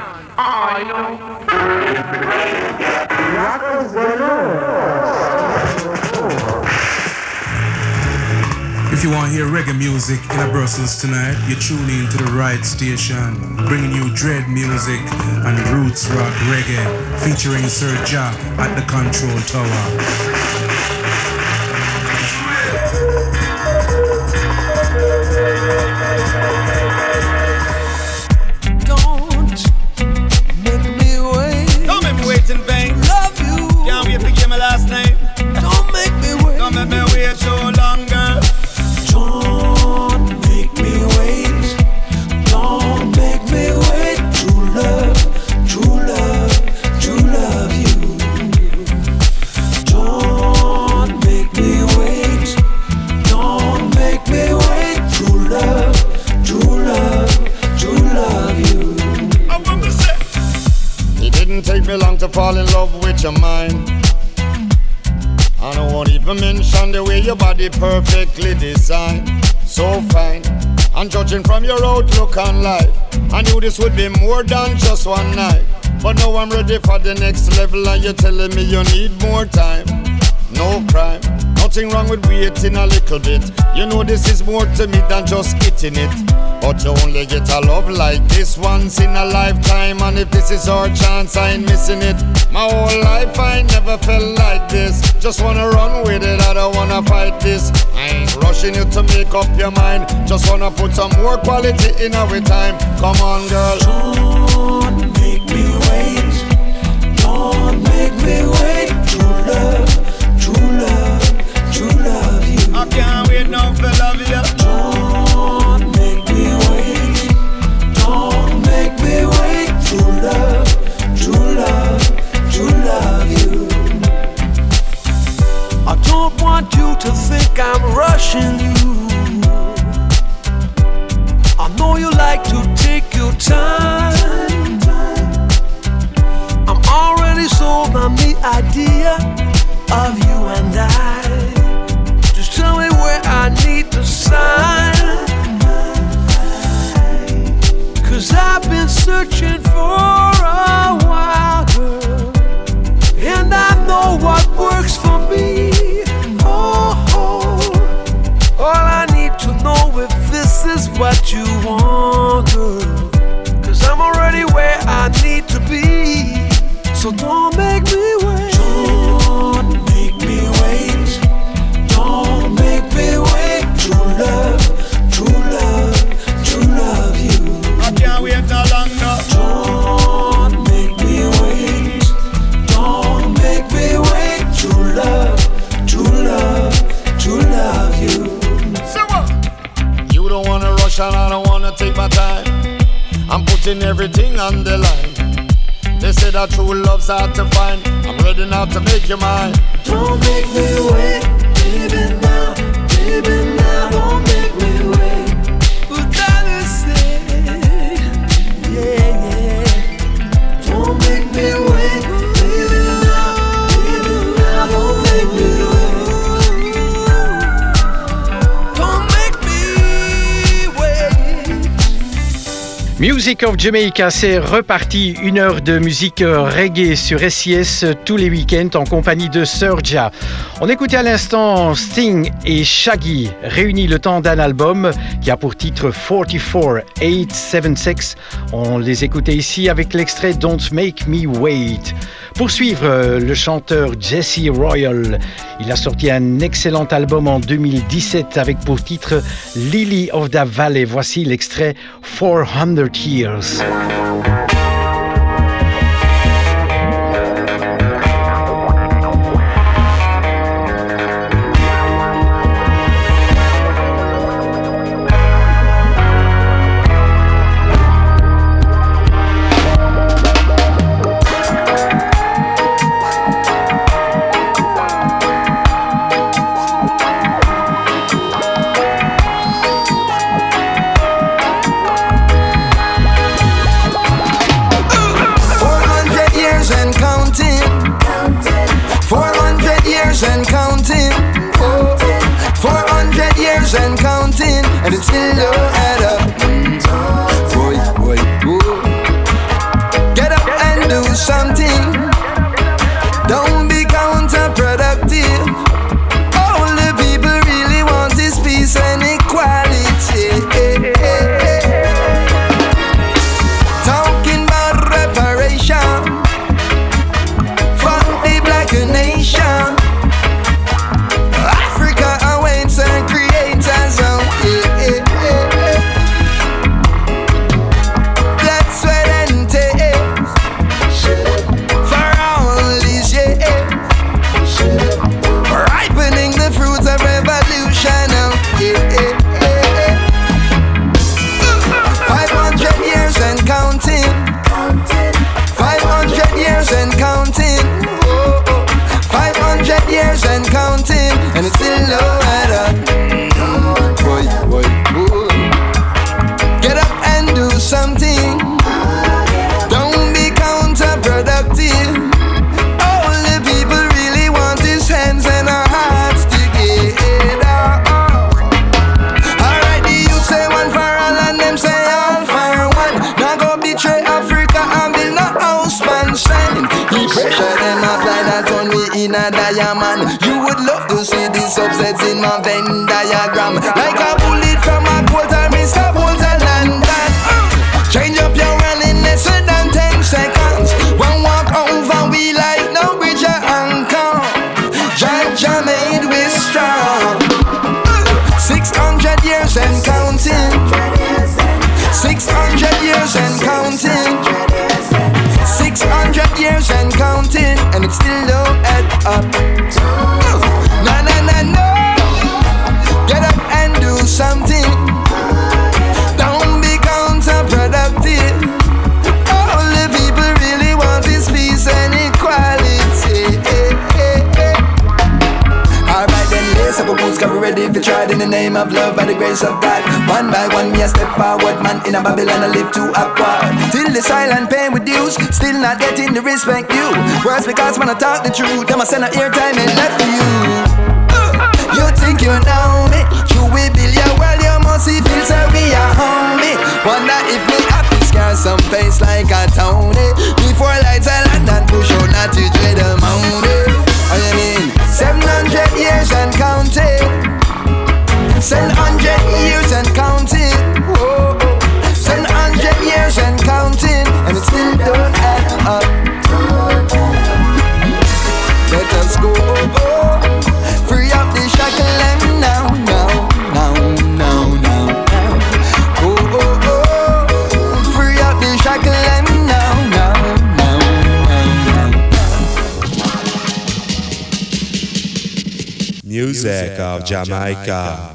I know. If you want to hear reggae music in Brussels tonight, you're tuning into the right station, bringing you dread music and roots rock reggae, featuring Sir Ja at the Control Tower. In vain. Love you. Can't wait to give my last name. Don't make me wait. Don't make me wait so long, girl. Don't make me wait. Don't make me wait. True love, true love, true love you. Don't make me wait. Don't make me wait. True love, true love, true love you. I want to say. It didn't take me long to fall in love with your mind. And I won't even mention the way your body perfectly designed. So fine. And judging from your outlook on life, I knew this would be more than just one night. But now I'm ready for the next level, and you're telling me you need more time. No crime, nothing wrong with waiting a little bit. You know this is more to me than just getting it. But you only get a love like this once in a lifetime. And if this is our chance, I ain't missing it. My whole life I never felt like this. Just wanna run with it, I don't wanna fight this. I ain't rushing you to make up your mind. Just wanna put some more quality in our time. Come on, girl. Don't make me wait. Don't make me wait. True love, true love, true love you. I can't wait now for love you. Don't make me wait. Don't make me wait. True love, true love, true love you. I don't want you to think I'm rushing you. I know you like to take your time. I'm already sold on the idea of you and I. Just tell me where I need to sign. 'Cause I've been searching for a while, girl, and I know what works for me. Oh, all I need to know if this is what you want, girl. 'Cause I'm already where I need to be. So don't make me wait. Don't make me wait. Don't make me wait. True love, true love, true love you. I can't wait no longer. Don't make me wait. Don't make me wait. True love, true love, true love you. So what? You don't wanna rush and I don't wanna take my time. I'm putting everything on the line. They say that true love's hard to find. I'm ready now to make you mine. Don't make me wait, baby now, don't make me wait. What I say, yeah. Don't make me wait, baby now, don't make me wait. Don't make me wait. Music of Jamaica, c'est reparti. 1 heure de musique reggae sur SIS tous les week-ends en compagnie de Sir Ja. On écoutait à l'instant Sting et Shaggy réunis le temps d'un album qui a pour titre 44876. On les écoutait ici avec l'extrait Don't Make Me Wait. Pour suivre, le chanteur Jesse Royal, il a sorti un excellent album en 2017 avec pour titre Lily of the Valley. Voici l'extrait 400 Years. a diamond. You would love to see the subsets in my Venn diagram. Like a bullet from a quarter, Mr. Bolton London. Change up your running less than 10 seconds. One walk over, we like no bridge or anchor. Jah made we strong. 600 years and counting. 600 years and counting. 600 years and counting, and it still don't add up. No, no, no, no. Get up and do something. Don't be counterproductive. All the people really want is peace and equality. Alright then, lace up a boots, cover ready if you tried in the name of love by the grace of God. One by one, me a step forward, man in a Babylon I live too upward. Till the silent pain with dues, still not getting the respect due. Worse because when I talk the truth, them I send a airtime and left for you. You think you know me, you will build your world, you must see feel so we are homie. Wonder if me happy scar some face like a Tony. Before lights I land and push out not to dread the mountain. Oh you mean 700 years and counting. 700 years and counting. Whoa, 700 years and counting, and it still don't add up. Let us go, free up the shackle and now. Free up the shackle and now. Music of Jamaica.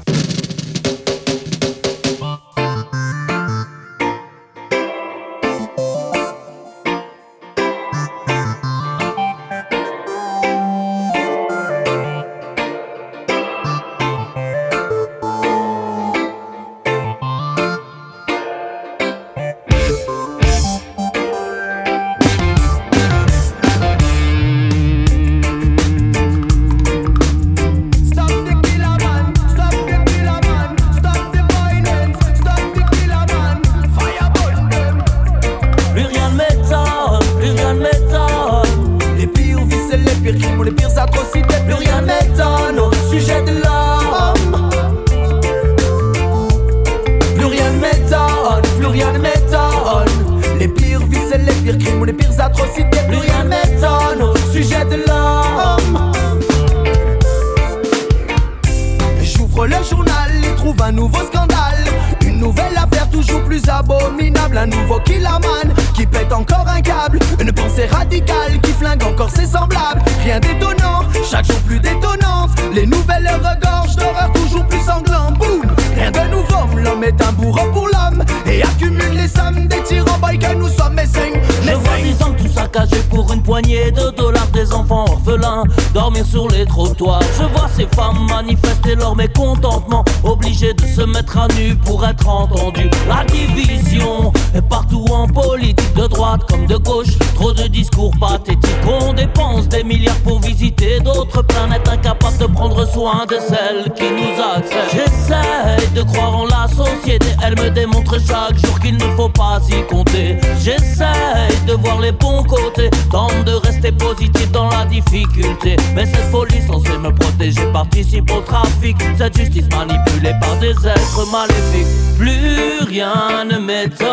Dormir sur les trottoirs. Je vois ces femmes manifester leur mécontentement, obligées de se mettre à nu pour être entendues. La division est partout en politique, de droite comme de gauche. Trop de discours pathétiques. On dépense des milliards pour visiter d'autres planètes, incapables de prendre soin de celles qui nous accèdent. J'essaie de croire en la société, elle me démontre chaque jour qu'il ne faut pas y compter. J'essaie de voir les bons côtés, tente de rester positif dans la difficulté. Mais cette police censée me protéger participe au trafic. Cette justice manipulée par des êtres maléfiques. Plus rien ne m'étonne.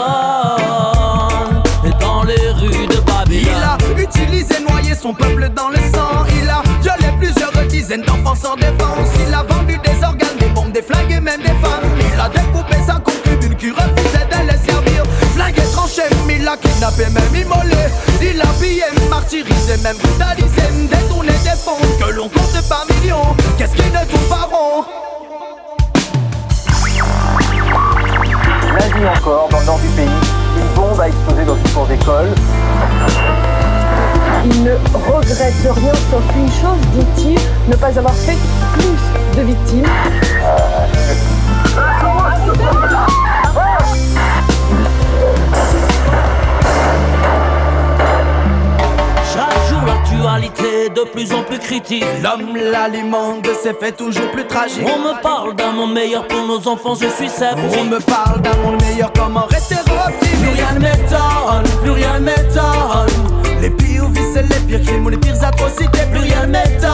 Et dans les rues de Babylone, il a utilisé, noyé son peuple dans le sang. Il a violé plusieurs dizaines d'enfants sans défense. Il a vendu des organes, des bombes, des flingues et même des femmes. Il a découpé sa concubine qui refusait de les servir. Flingué, tranché, il a kidnappé, même immolé. Il a pillé, martyrisé, même brutalisé, détourné des fonds que l'on compte par millions. Qu'est-ce qui ne tourne pas rond? Lundi encore, dans le nord du pays, une bombe a explosé dans une cour d'école. Il ne regrette rien sauf une chose, dit-il, ne pas avoir fait plus de victimes. chaque jour l'actualité de plus en plus critique. L'homme l'alimente de ses faits toujours plus tragiques. On me parle d'un monde meilleur pour nos enfants, je suis sceptique. On me parle d'un monde meilleur, comment rester optimiste? Plus rien ne m'étonne, plus rien ne m'étonne. Les pires vices et les pires crimes ou les pires atrocités, plus rien ne m'étonne.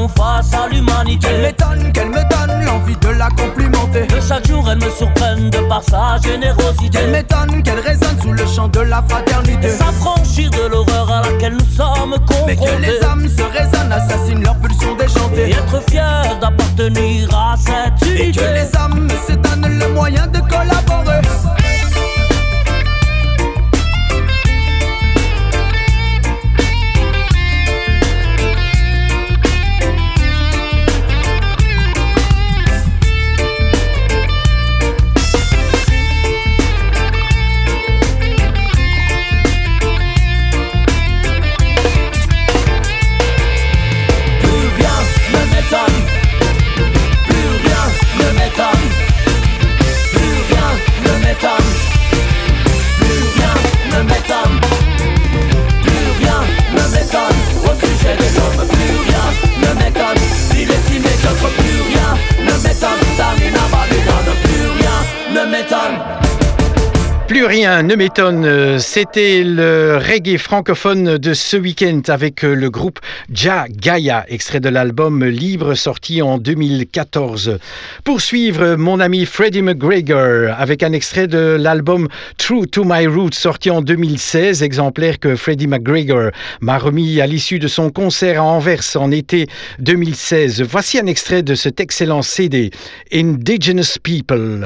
font face à l'humanité. Qu'elle me donne l'envie de la complimenter. Que chaque jour elle me surprenne de par sa générosité. Qu'elle m'étonne, qu'elle résonne sous le chant de la fraternité. S'affranchir de l'horreur à laquelle nous sommes confrontés. Mais que les âmes se résonnent, assassinent leur pulsion déchantée. Et être fier d'appartenir à cette unité. Et que les âmes se donnent le moyen de collaborer. Plus rien ne m'étonne, c'était le reggae francophone de ce week-end avec le groupe Jah Gaia, extrait de l'album Libre sorti en 2014. Pour suivre, mon ami Freddie McGregor avec un extrait de l'album True to My Roots sorti en 2016, exemplaire que Freddie McGregor m'a remis à l'issue de son concert à Anvers en été 2016. Voici un extrait de cet excellent CD, Indigenous People.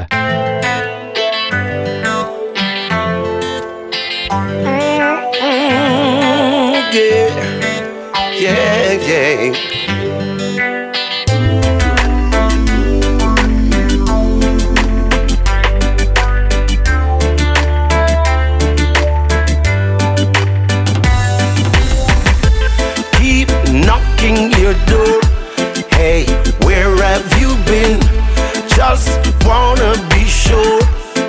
Yeah. Keep knocking your door. Hey, where have you been? Just wanna be sure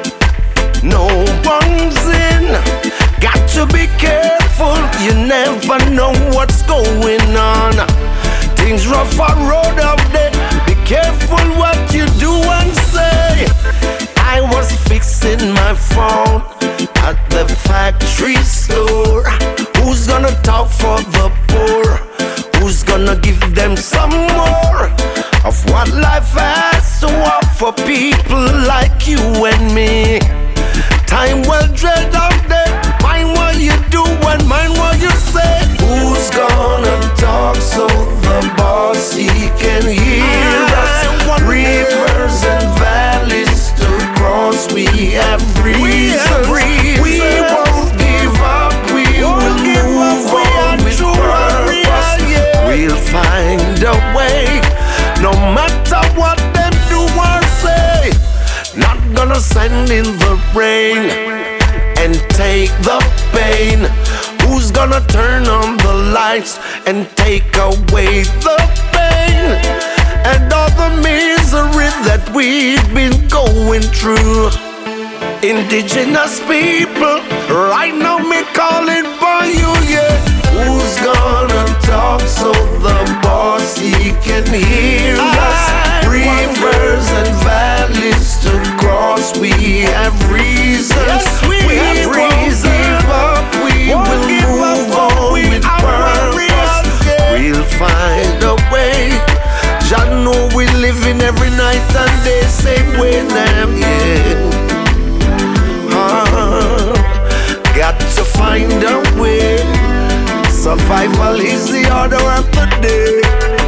no one's in. Got to be careful, you never know what's going on. Things rough on road out there. Be careful what you do and say. I was fixing my phone at the factory store. Who's gonna talk for the poor? Who's gonna give them some more of what life has to offer people like you and me? Time well dread out there. Mind what you do and mind what you say. Who's gonna talk so the boss he can hear us? Rivers and valleys to cross, we have reasons. We won't give up, we will move on with purpose. We'll find a way, no matter what them do or say. Not gonna send in the rain and take the pain. Who's gonna turn on the lights and take away the pain and all the misery that we've been going through? Indigenous people, right now me calling for you, yeah. Who's gonna talk so the boss he can hear us? Rivers and valleys to cross, we have reasons. Yes, we have reasons. Give up, we will move on with purpose. We'll find a way. Jah know we living every night and day, same way them, yeah. Got to find a way. Survival is the order of the day.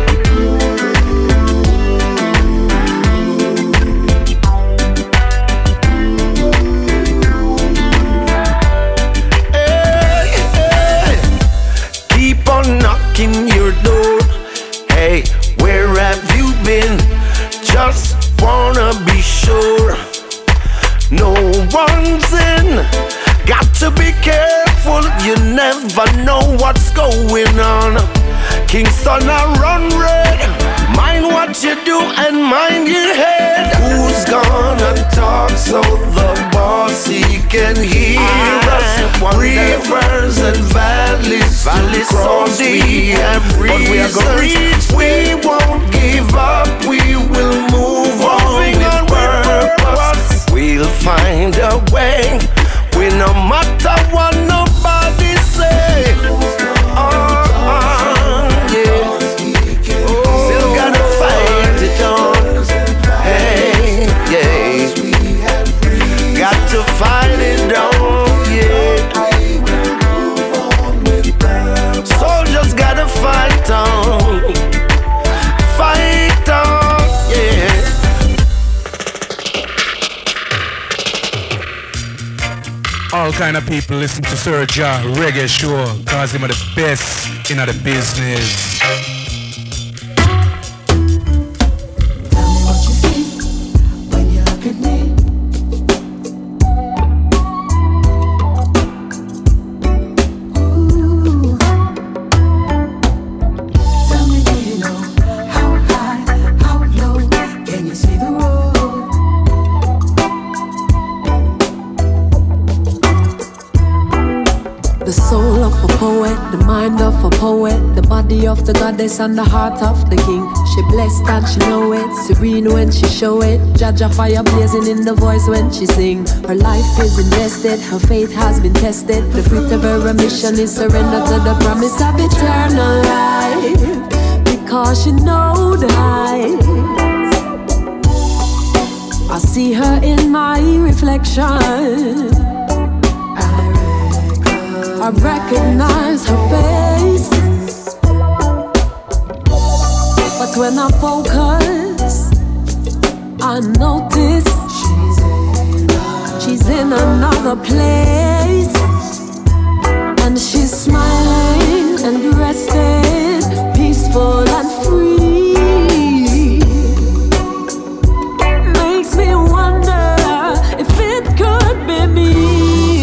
Hey. Keep on knocking your door. Hey, where have you been? Just wanna be sure no one's in. Got to be careful, you never know what's going on. Kingston a run red. Mind what you do and mind your head. Who's gonna talk so the boss he can hear us? Rivers and valleys to cross, we have reasons. We won't give up, we will move on with purpose. We'll find a way. We no matter what nobody say. Yeah. Oh, All kind of people listen to Sir Ja Reggae Show, cause him are the best in the business. Tell me what you see when you look at me. Ooh. Tell me, do you know how high, how low can you see the road? The soul of a poet, the mind of a poet, the body of the goddess and the heart of the king. She blessed and she know it, serene when she show it. Jaja fire blazing in the voice when she sing. Her life is invested, her faith has been tested. The fruit of her mission is surrender to the promise of eternal life. Because she know the heights. I see her in my reflection. I recognize her face, but when I focus, I notice she's in another place, and she's smiling and rested, peaceful and free. Makes me wonder if it could be me.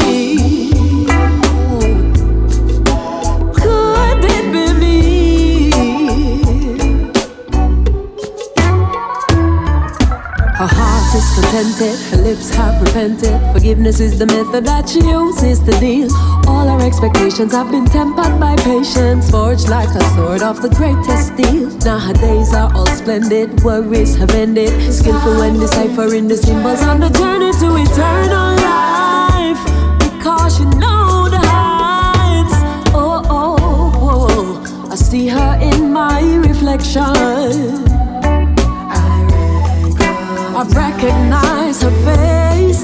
Her heart is contented, her lips have repented. Forgiveness is the method that she uses to deal. All her expectations have been tempered by patience, forged like a sword of the greatest steel. Now her days are all splendid, worries have ended. Skillful when deciphering the symbols on the journey to eternal life. Because you know the heights. Oh, oh, oh. I see her in my reflection. I recognize her face,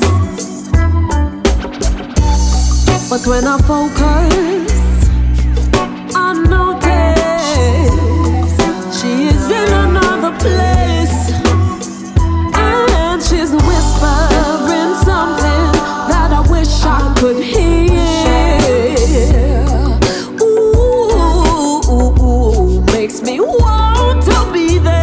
but when I focus, I notice she is in another place, and she's whispering something that I wish I could hear. Ooh, makes me want to be there.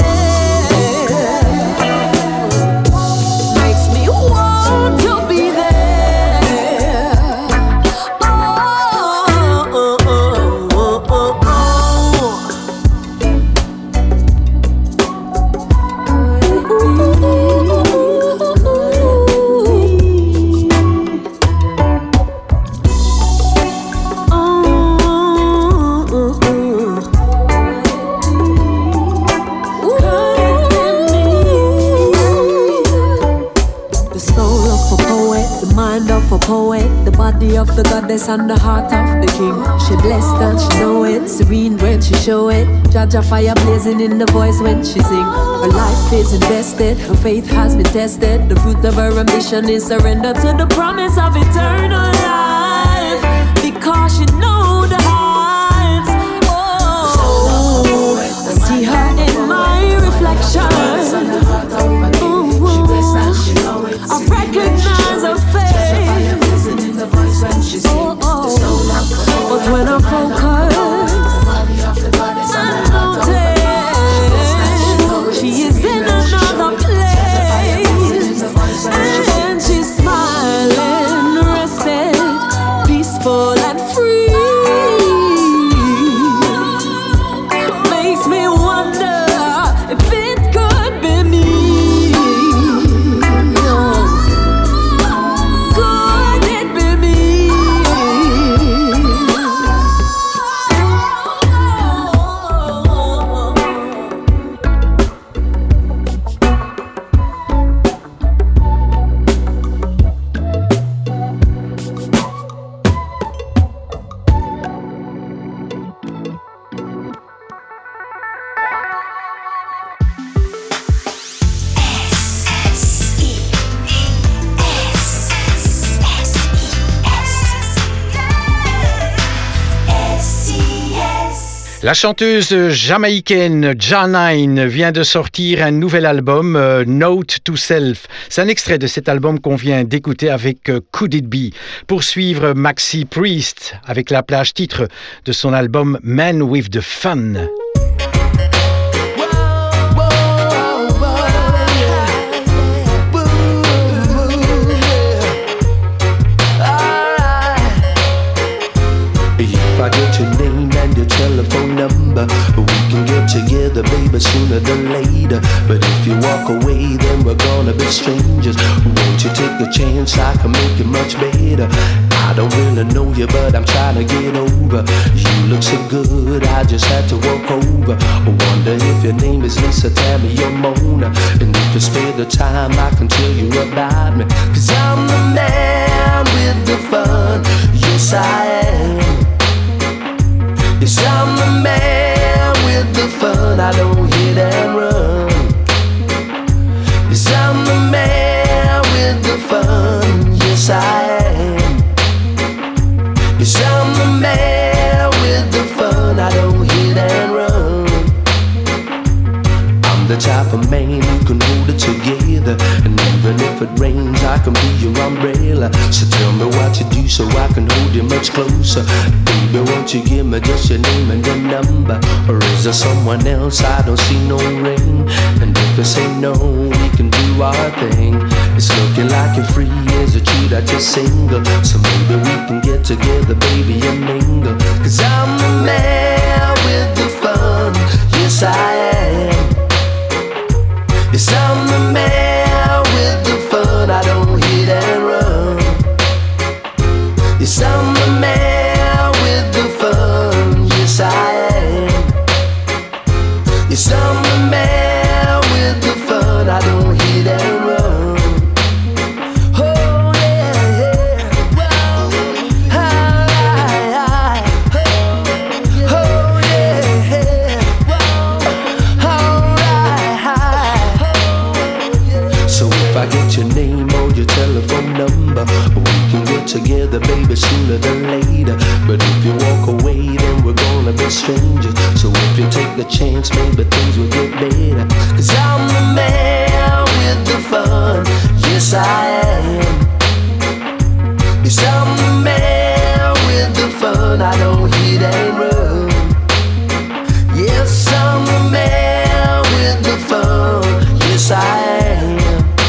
Of the goddess and the heart of the king. She blessed and she know it, serene when she show it. Jaja fire blazing in the voice when she sing. Her life is invested, her faith has been tested. The fruit of her ambition is surrender to the promise of eternal life. Because she know the heights. Oh, I see her in my reflection. I recognize her face. But when I focus, I notice she is in another place, and she's smiling, resting. La chanteuse jamaïcaine Janine vient de sortir un nouvel album, Note to Self. C'est un extrait de cet album qu'on vient d'écouter avec Could It Be. Pour suivre Maxi Priest avec la plage titre de son album Man with the Fun. If I get your name and your telephone number, we can get together, baby, sooner than later. But if you walk away, then we're gonna be strangers. Won't you take a chance? I can make it much better. I don't really know you, but I'm trying to get over. You look so good, I just had to walk over. I wonder if your name is Lisa, Tammy, or Mona. And if you spare the time, I can tell you about me. 'Cause I'm the man with the fun, yes I am. Yes, I'm the man with the fun, I don't hit and run. Yes, I'm the man with the fun, yes I am. Yes, I'm the man with the fun, I don't hit and run. I'm the type of man who can hold it together, and even if it rains, I can be your umbrella. So tell me what you do so I can hold you much closer. Baby, won't you give me just your name and your number? Or is there someone else? I don't see no ring. And if you say no, we can do our thing. It's looking like you're free, is it true that you're single? So maybe we can get together, baby, and mingle. 'Cause I'm the man with the fun, yes I am. Yes, I'm the man with the fun, I don't hit and run. Yes, I'm the man with the fun, yes I am. Yes, I'm the man with the fun, I don't hit and run. Oh yeah, yeah, wow, hi, oh yeah, yeah, wow, alright. So if I get your name or your telephone number, we can get together, baby, sooner than later. But if you walk away, then we're gonna be strangers. So if you take the chance, maybe things will get better. 'Cause I'm the man with the fun, yes I am. Yes, I'm the man with the fun, I don't hit and run. Yes, I'm the man with the fun, yes I am.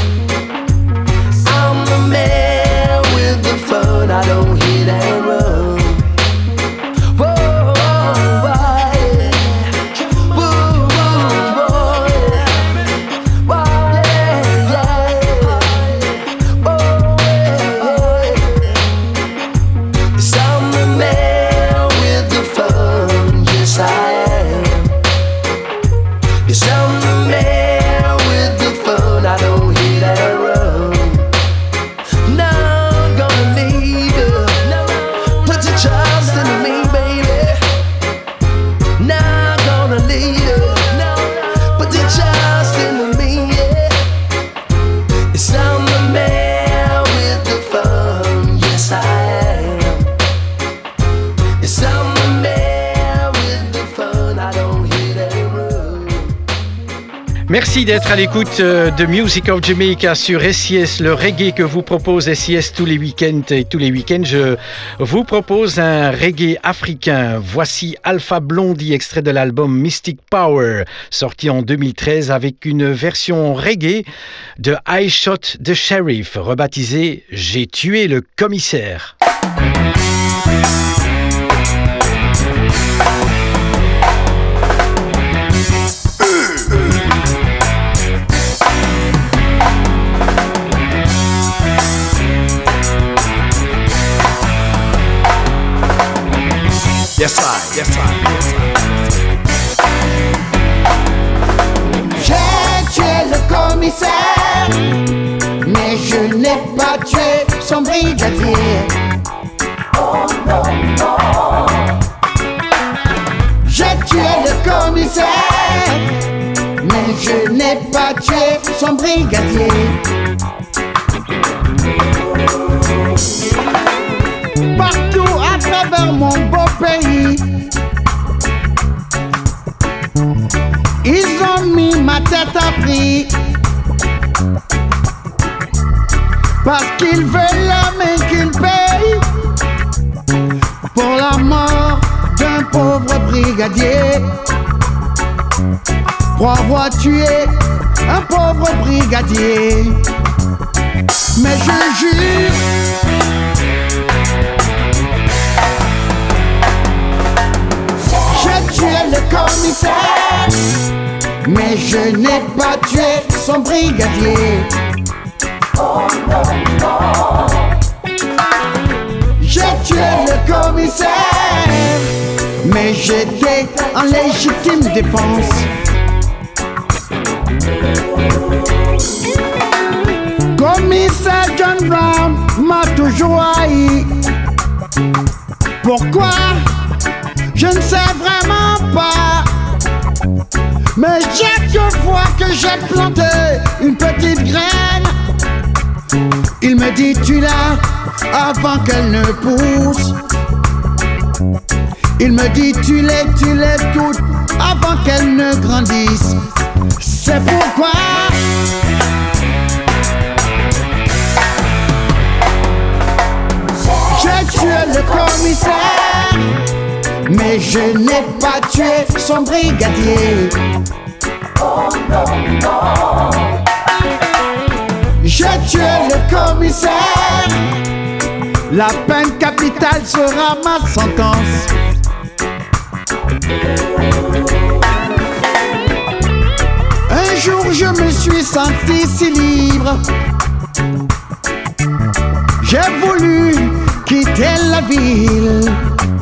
I'm the man with the fun, I don't hit and run. Whoa, whoa, whoa, yeah. Whoa, whoa, whoa, yeah. Whoa, yeah, yeah. Oh, yeah, yeah. Yes, I'm the man with the fun, yes I am. Yes, I'm the man with the fun, I don't hit and run. Not gonna leave you, put your trust in me, baby. Not gonna leave you, put your trust in me, yeah. Yes, I'm the man with the fun, yes I am. Yes, I'm the man with the fun, I don't hit and run. Merci d'être à l'écoute de Music of Jamaica sur SIS, le reggae que vous propose SIS tous les week-ends. Et tous les week-ends, je vous propose un reggae africain. Voici Alpha Blondy, extrait de l'album Mystic Power, sorti en 2013 avec une version reggae de I Shot the Sheriff, rebaptisé J'ai tué le commissaire. Yes, I, yes, I, yes, I. J'ai tué le commissaire, mais je n'ai pas tué son brigadier. Oh non, non. J'ai tué le commissaire, mais je n'ai pas tué son brigadier. Partout à travers mon beau pays, Paris. Parce qu'ils veulent la main qu'ils payent pour la mort d'un pauvre brigadier. Pour avoir tué un pauvre brigadier. Mais je jure, j'ai tué le commissaire, mais je n'ai pas tué son brigadier. J'ai tué le commissaire, mais j'étais en légitime défense. Commissaire John Brown m'a toujours haï. Pourquoi? Je ne sais vraiment pas. Mais chaque fois que j'ai planté une petite graine, il me dit tu l'as avant qu'elle ne pousse. Il me dit tu l'es toute avant qu'elle ne grandisse. C'est pourquoi j'ai tué le commissaire, mais je n'ai pas tué son brigadier. J'ai tué le commissaire, la peine capitale sera ma sentence. Un jour je me suis senti si libre. J'ai voulu quitter la ville.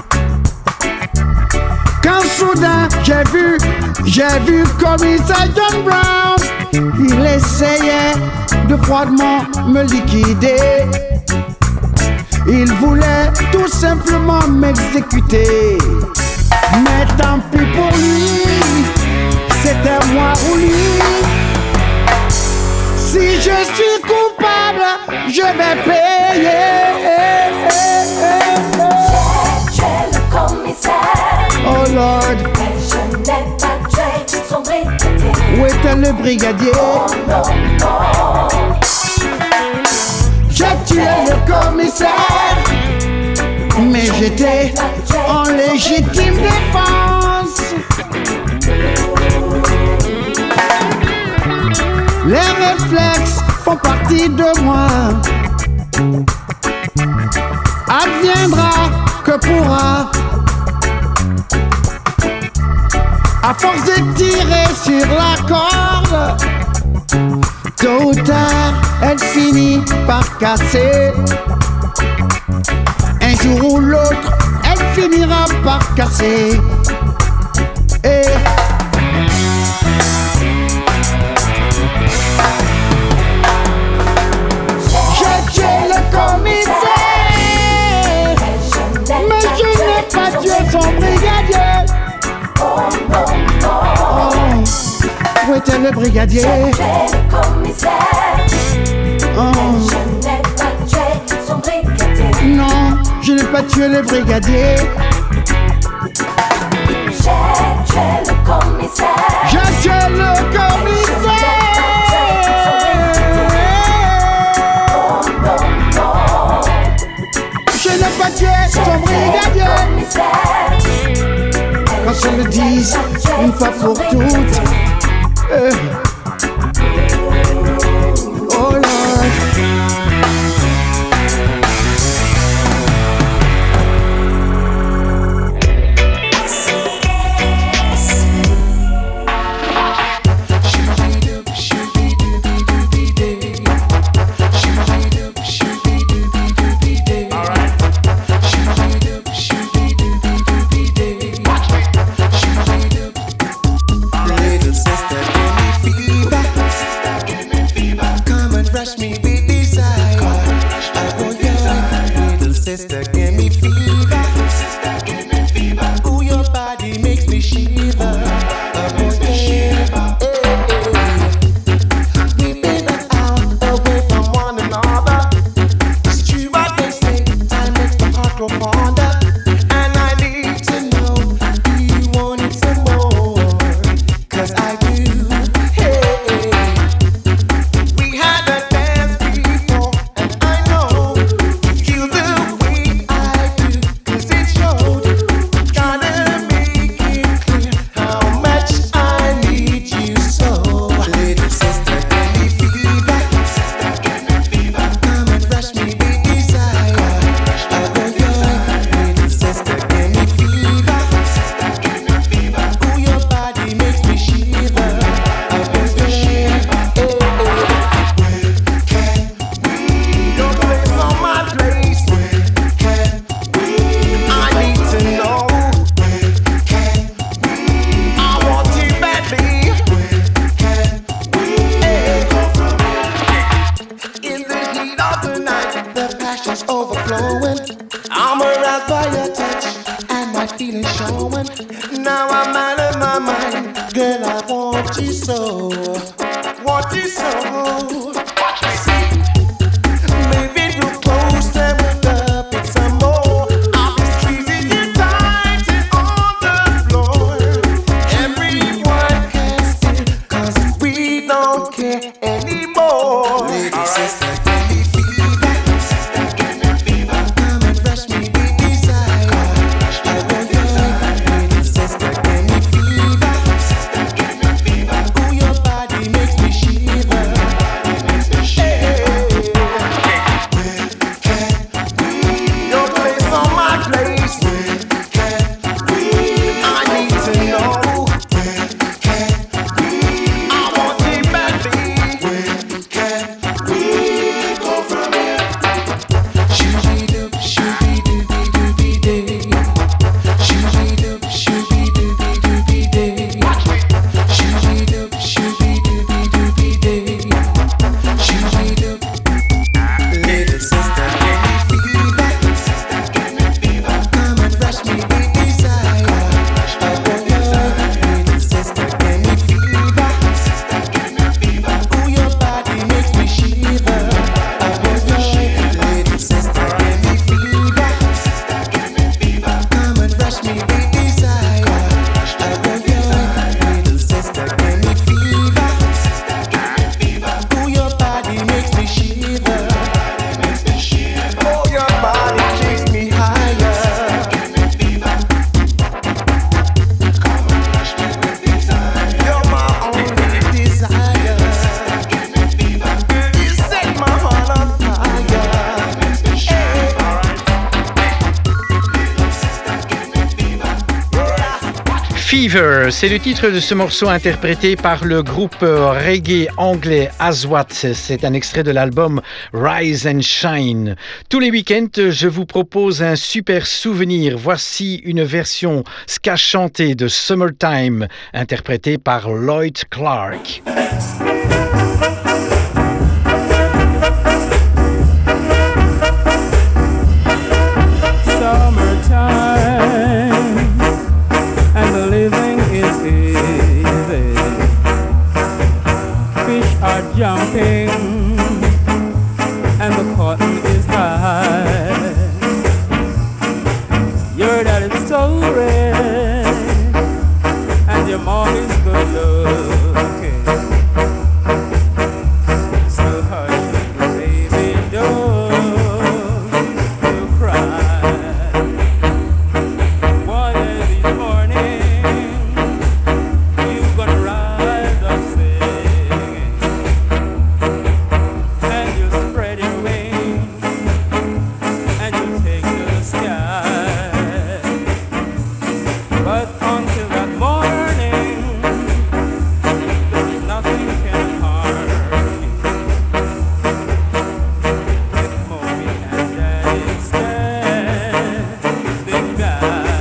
Quand soudain j'ai vu commissaire John Brown. Il essayait de froidement me liquider. Il voulait tout simplement m'exécuter. Mais tant pis pour lui, c'était moi ou lui. Si je suis coupable, je vais payer. J'ai tué le commissaire. Oh Lord. Mais je n'ai pas tué son brigadier. Où était le brigadier? Oh non, non. J'ai tué le commissaire, mais j'étais en légitime défense. Les réflexes font partie de moi. Adviendra que pourra. À force de tirer sur la corde, tôt ou tard, elle finit par casser. Un jour ou l'autre, elle finira par casser. Et j'ai tué le commissaire, mais je n'ai pas tué son brigadier. Oh non, non. Où était le brigadier? J'ai tué le commissaire. Je n'ai pas tué son brigadier. Non, je n'ai pas tué le brigadier. J'ai tué le commissaire. J'ai tué le commissaire. Oh non, non. Je n'ai pas tué son brigadier. Qu'on se le dise une fois pour toutes. Oh Lord. Sister, give me fever. Ooh, your body makes me shiver. We've been out away from one another. It's true what they say, time makes the heart grow fonder. And I need to know, do you want it some more? 'Cause I do. Hey. by your touch and my feelings showing. Now I'm out of my mind, girl. I want you so, want you so. Maybe too close and we'll up with some more. I'll be squeezing you tight and on the floor. Everyone can see, 'cause we don't care anymore. Lady sister, give me fever. Sister, give me fever. Come and rush me with desire. Lady sister, give me fever. Sister, give me fever. Ooh, your body makes me shiver. Your place on my place. I need to know. I want it badly. Go from here. Shooby-doop, shooby-dooby-dooby-day. Shooby-doop, shooby-dooby-dooby-day. Shooby-doop, shooby-dooby-dooby-day. Shooby-doop. Little sister, give me fever. Sister, give me fever. Come and rush me with desire. Little sister, give me fever. Sister, give me fever. Ooh, your body makes me shiver. Little sister, give me fever. Sister, give me fever. Come and rush me with desire. Little sister, give me fever. Sister, give me fever. Ooh, your body makes me shiver. Oh, your body takes me higher. Give me fever. Come and rush me with desire. You're my only desire. Give me fever. You set my heart on fire. Makes me shiver. Fever, c'est le titre de ce morceau interprété par le groupe reggae anglais Aswat. C'est un extrait de l'album Rise and Shine. Tous les week-ends, je vous propose un super souvenir. Voici une version ska chantée de Summertime, interprétée par Lloyd Clark. Summertime, and the living is easy. Fish are jumping, and the cotton is high. Your daddy's so red, and your mom is good looking. So hush, baby, don't you cry. One of these mornings, you're gonna rise up singing, and you spread your wings, and you take to the sky. But until that morning, there's nothing can harm you. With mommy and daddy standing by.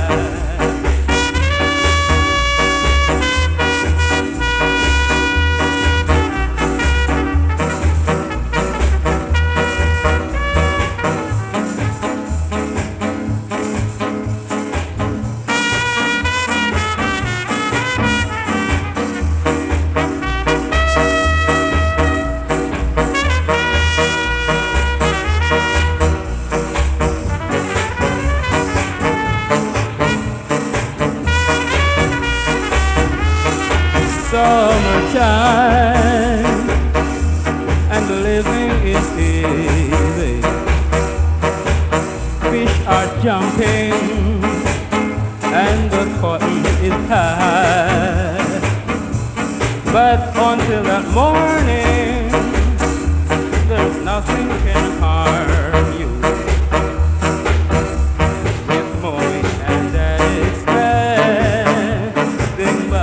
Summertime, and the living is easy. Fish are jumping, and the cotton is high. But until that morning, there's nothing can harm you. With mommy and daddy standing by.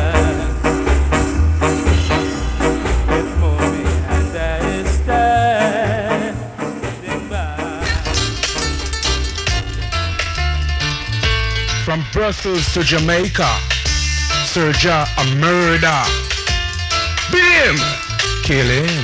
From Brussels to Jamaica, Serja a murder. Beat him, kill him.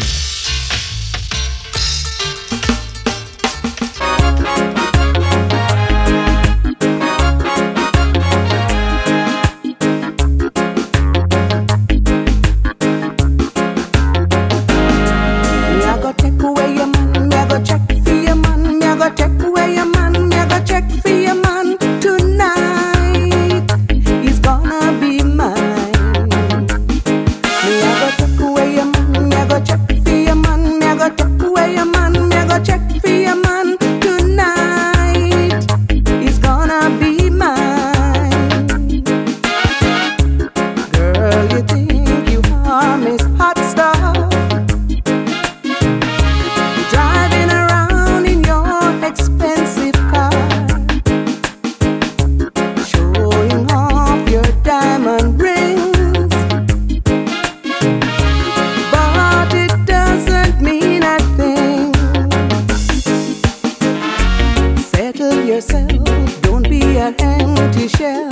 yourself, don't be an empty shell.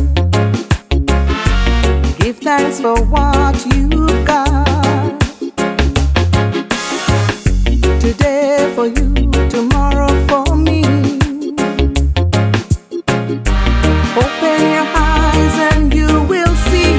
Give thanks for what you've got. Today for you, tomorrow for me. Open your eyes and you will see.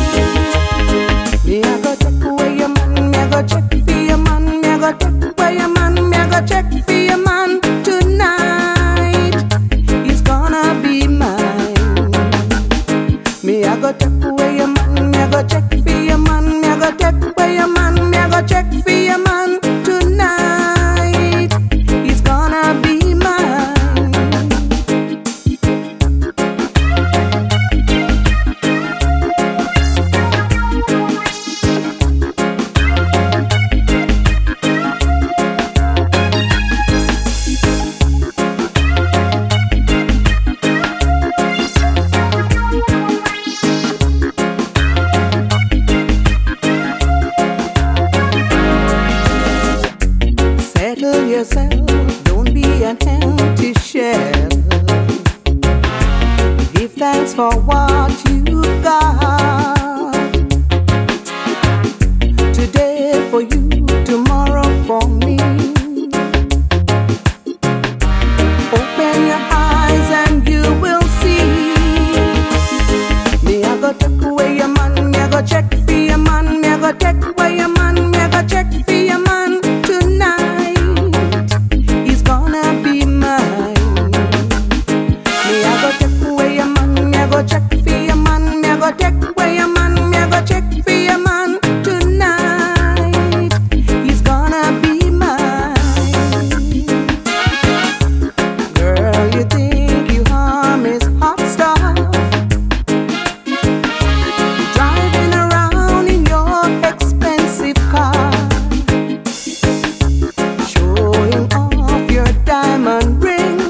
Me I go check away your man, me I go check for your man, me I go check away your man, me I go check for your man tonight. He's gonna be mine. Me I go check away your man, me I go check for your man, me I go check away your man, me I go check for your man tonight. He's gonna be mine. Settle yourself, don't be an empty shell. Give thanks for what you've got. Today for you, tomorrow for me. Open your eyes and you will see. Me I go take away your man, me I go check for your man, me I go take away your man, me I go check for your man tonight. He's gonna be mine. Me I go take away your man, me I go check for your man, me I go take away your man, me I go check for your man tonight. He's gonna be mine. Girl, you think you harm is hot stuff, driving around in your expensive car, showing off your diamond rings,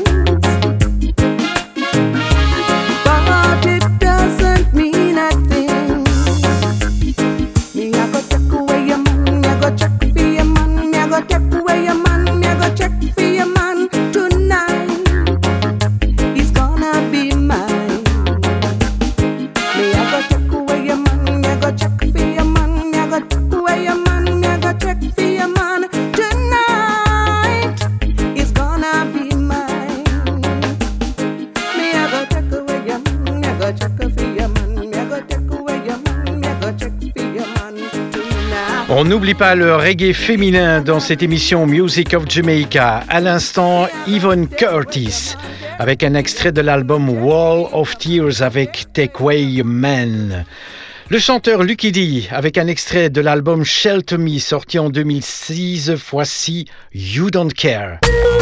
but it doesn't mean a thing. Me I go check away your man, me I go check for your man, me I go check away your man, me I go check for your man tonight. He's gonna be mine. Me I go check away your man, me I go check for your man, me I go check away your man, me I go check for your man tonight. He's gonna be mine. Me I go check away your man, me I go check for your man, me I go check away your man, me I go check for your man tonight. On n'oublie pas le reggae féminin dans cette émission Music of Jamaica. À l'instant, Yvonne Curtis avec un extrait de l'album Wall of Tears avec Take Away Man. Le chanteur Lucky D avec un extrait de l'album Shelter Me sorti en 2006, voici You Don't Care.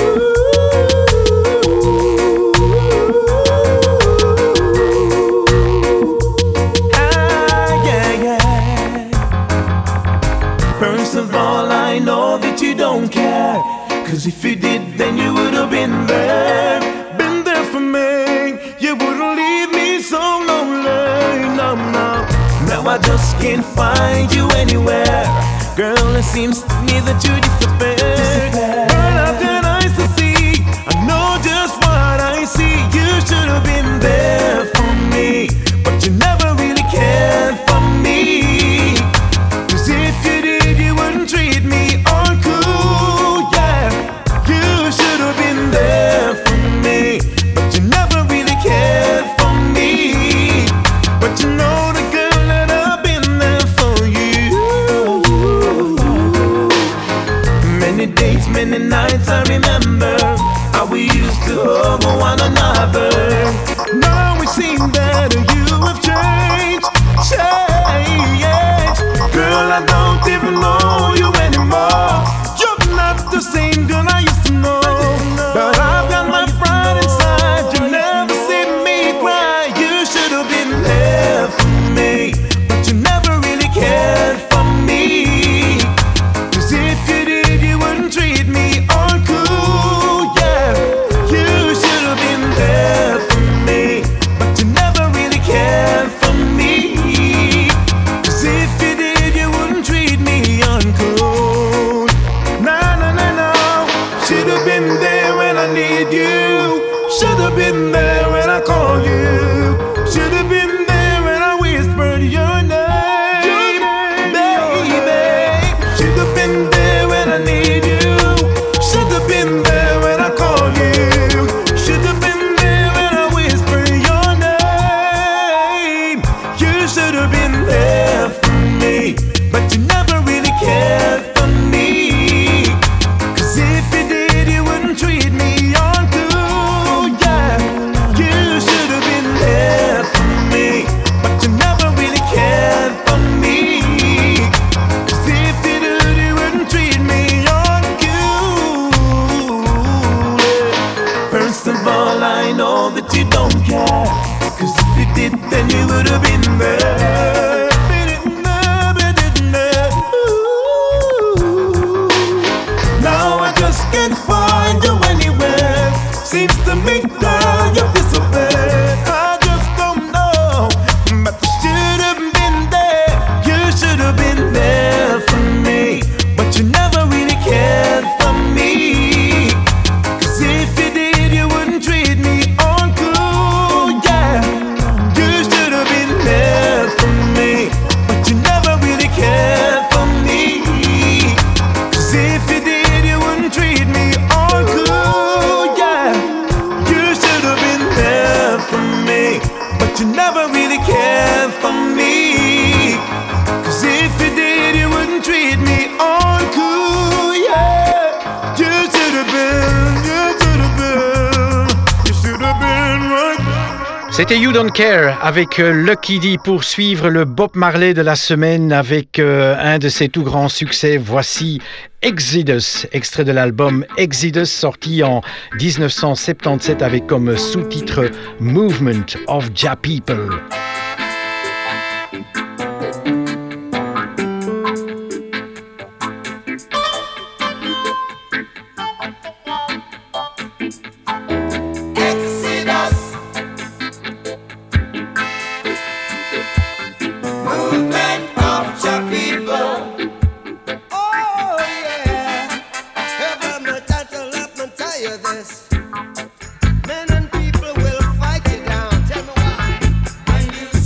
First of all, I know that you don't care, 'cause if you did, then you would have been there for me. You wouldn't leave me so lonely, no, no. Now I just can't find you anywhere. Girl, it seems to me that you disappeared. Girl, I've got eyes to see, I know just what I see. You should have been there for me, but you never really cared for me. 'Cause if you did, you wouldn't treat me all cool, yeah. You should have been there for me, but you never really cared for me. But you know the girl that I've been there for you. Many days, many nights I remember how we used to hug one another. Now we seem better, you have changed, changed. Girl, I don't even know you anymore. You're not the same girl I used to know. But I've got my pride inside. You never see me cry. You should have been there for me, but you never really cared for me. 'Cause if you did, you wouldn't treat me all cool, yeah. You should have been there for me, but you never really cared. have been there when I called you. Should have been there when I whispered your name, baby. Should have been there when I need you. Should have been there when I called you. Should have been there when I whispered your name. You should have been there for me, but you never really cared for me. 'Cause if you did, you wouldn't treat me on cool, yeah. You should have been there for me, but you never really cared for me. 'Cause if you did, you wouldn't treat me on cool. First of all, I know that you don't care, 'cause if you did, then you would have been there. Now I just can't find you anywhere. Seems to me, girl, you disappeared. I just don't know, but you should have been there. You should have been there for me, but you never really cared for me. 'Cause if you did, you wouldn't treat me on cool, yeah. You should have been there for me, but you never really cared for me. 'Cause if you did, you wouldn't treat me on cool, yeah. You should have been there for me, but you never really cared for me. 'Cause if you did, you wouldn't treat me on cool, yeah. You should have been, you should have been, you should have been right. C'était You Don't Care avec Lucky D pour suivre le Bob Marley de la semaine avec un de ses tout grands succès. Voici Exodus, extrait de l'album Exodus sorti en 1977 avec comme sous-titre Movement of Jah People. Exodus, movement of Jah people. Oh yeah, heaven will let me tell you this. Men and people will fight you down. Tell me why. When you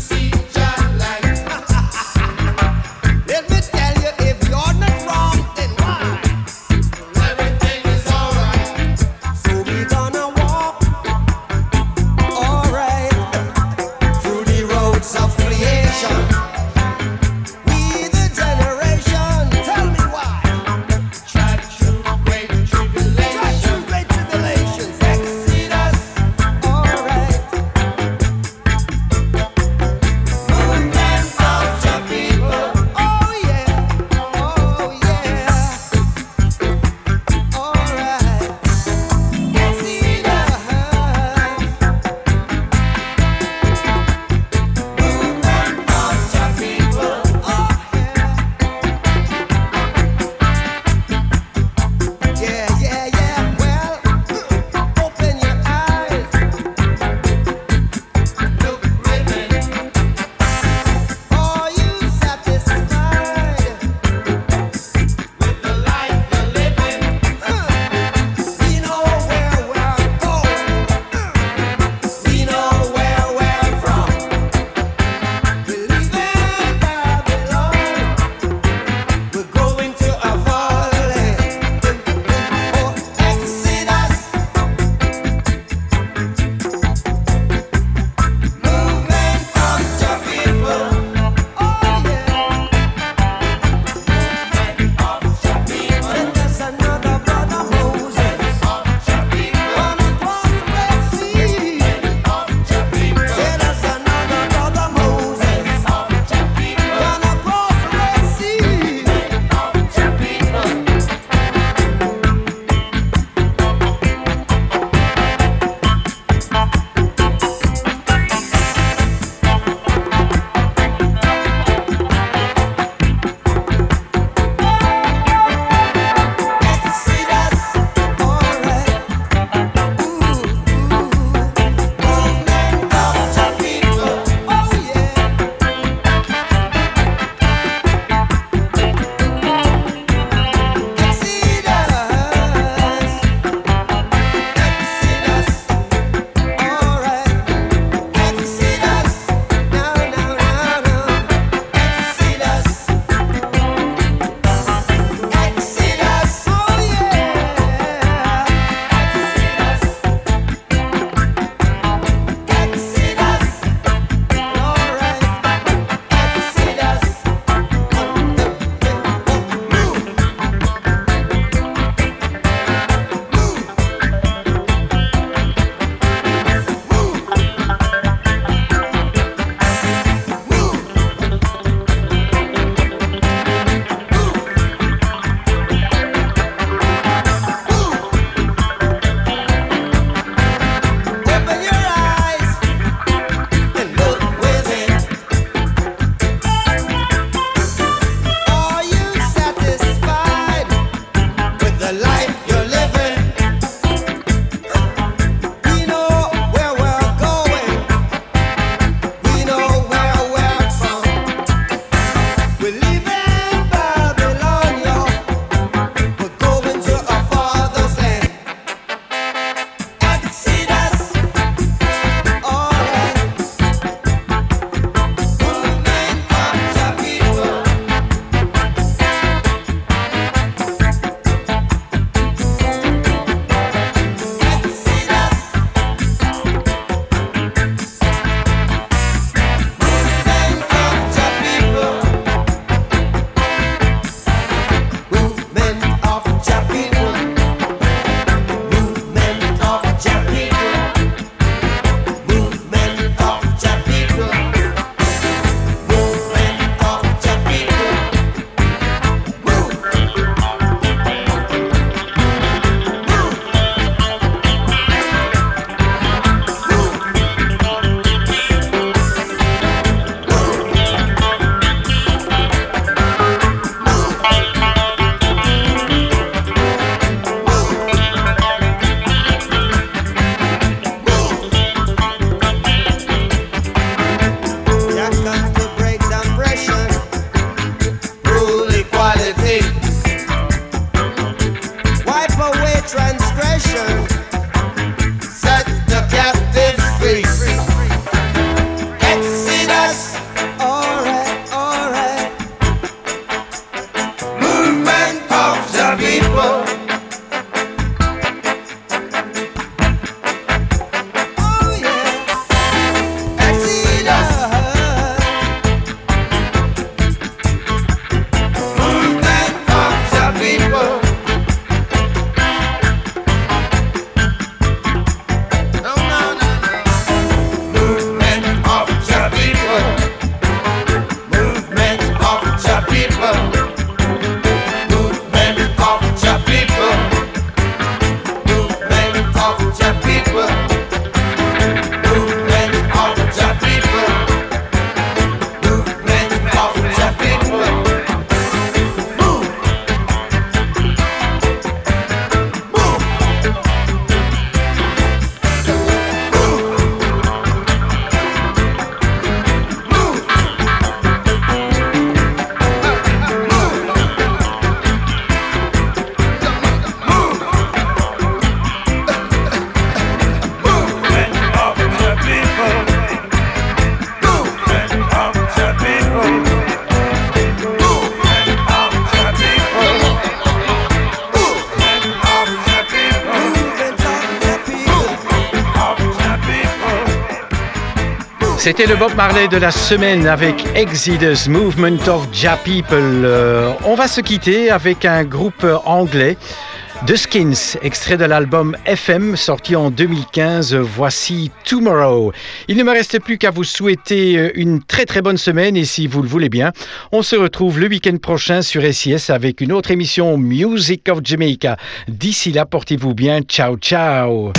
C'était le Bob Marley de la semaine avec Exodus, Movement of Ja People. On va se quitter avec un groupe anglais, The Skins, extrait de l'album FM sorti en 2015. Voici Tomorrow. Il ne me reste plus qu'à vous souhaiter une très très bonne semaine et si vous le voulez bien, on se retrouve le week-end prochain sur SIS avec une autre émission Music of Jamaica. D'ici là, portez-vous bien. Ciao, ciao.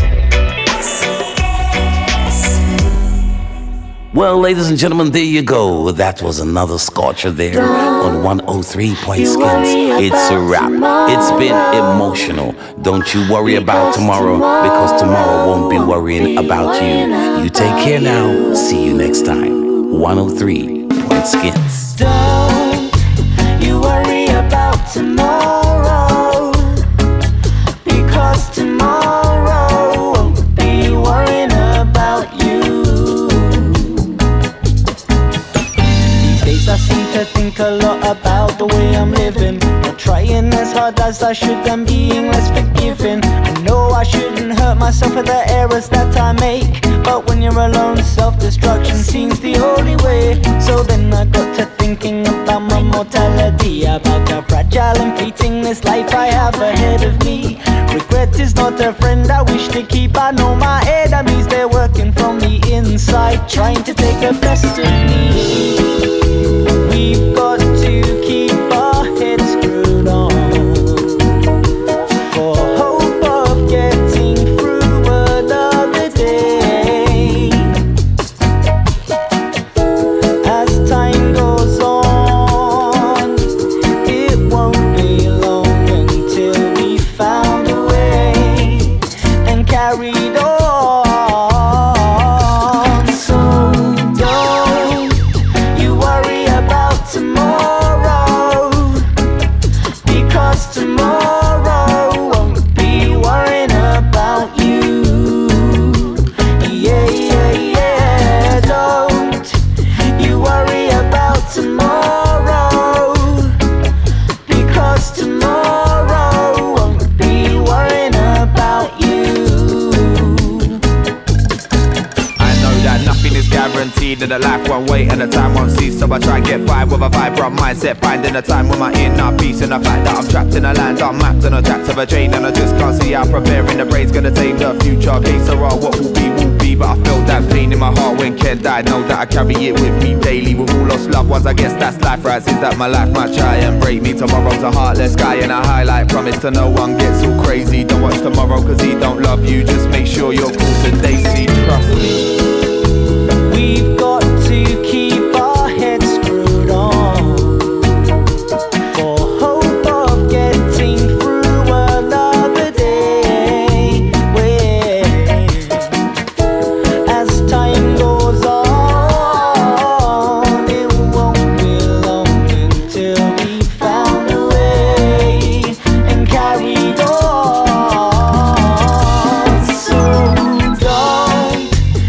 Well, ladies and gentlemen, there you go. That was another scorcher there on 103 Point Skins. It's a wrap. It's been emotional. Don't you worry about tomorrow, because tomorrow won't be worrying about you. You take care now. See you next time. 103 Point Skins. Don't you worry about tomorrow, because tomorrow won't be worrying about you. I seem to think a lot about the way I'm living, not trying as hard as I should and being less forgiving. I know I shouldn't hurt myself for the errors that I make, but when you're alone, self-destruction seems the only way. So then I got to thinking about my mortality, about how fragile and fleeting this life I have ahead of me. Regret is not a friend I wish to keep. I know my enemies, they're working from the inside, trying to take the best of me. We've got to keep our heads screwed on, for hope of getting through another day. As time goes on, it won't be long until we found a way and carried on. So don't you worry about tomorrow, because tomorrow won't be worrying about you. Yeah, yeah, yeah. Don't you worry about tomorrow, because tomorrow won't be worrying about you. I know that nothing is guaranteed, and that life won't wait and the time won't cease. So I try and get by with a vibrant mindset, finding a time with my inner peace, and the fact that I'm trapped in a land unmapped on a track of a train, and I just can't see how preparing the brain's gonna tame the future. Case or what will be, but I felt that pain in my heart when Ken died. Know that I carry it with me daily. With all lost loved ones, I guess that's life, right? Since that my life might try and break me. Tomorrow's a heartless guy and a highlight. Promise to no one gets all crazy. Don't watch tomorrow cause he don't love you. Just make sure you're cool today, see, trust me. We've got to keep our heads screwed on, for hope of getting through another day. As time goes on, it won't be long until we found a way and carried on. So don't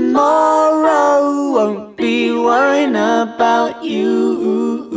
tomorrow. Won't be worrying about you.